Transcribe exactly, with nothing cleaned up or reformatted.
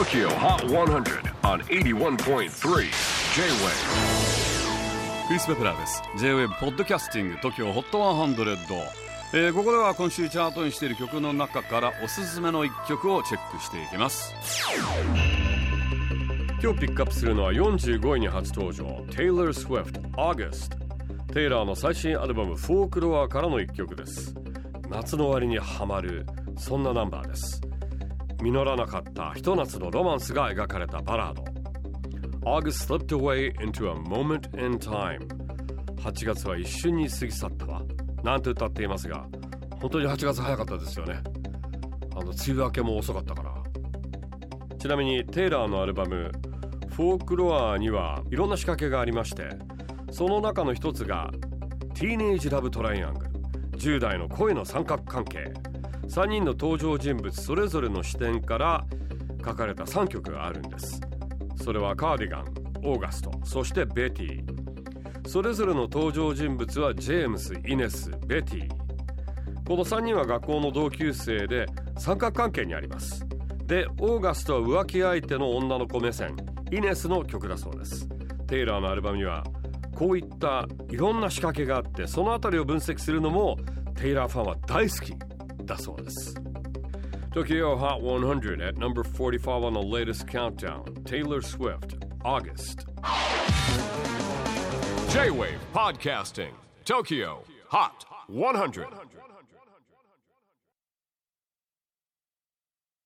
Tokyo Hot one hundred on エイティワンポイントスリー J-Wave。 クリス・ベプラーです。 J-Wave ポッドキャスティング Tokyo Hot ワンハンドレッド、えー、ここでは今週チャートにしている曲の中からおすすめのいっきょくをチェックしていきます。 今日ピックアップするのはよんじゅうごいに初登場 Taylor Swift August。 テイラーの最新アルバムフォークロアからのいっきょくです。夏の終わりにハマるそんなナンバーです。実らなかったひと夏のロマンスが描かれたバラード。 August slipped away into a moment in time。 はちがつは一瞬に過ぎ去ったわなんて歌っていますが、本当にはちがつ早かったですよね。あの梅雨明けも遅かったから。ちなみにテイラーのアルバムフォークロアにはいろんな仕掛けがありまして、その中の一つがティーネージラブトライアングル、じゅう代の恋の三角関係。さんにんの登場人物それぞれの視点から書かれたさんきょくがあるんです。それはカーディガン、オーガスト、そしてベティ。それぞれの登場人物はジェームス、イネス、ベティ。このさんにんは学校の同級生で三角関係にあります。で、オーガストは浮気相手の女の子目線、イネスの曲だそうです。テイラーのアルバムにはこういったいろんな仕掛けがあって、そのあたりを分析するのもテイラーファンは大好きだそうです。 Tokyo Hot one hundred at number forty-five on the latest countdown. Taylor Swift August。 J-Wave Podcasting Tokyo Hot one hundred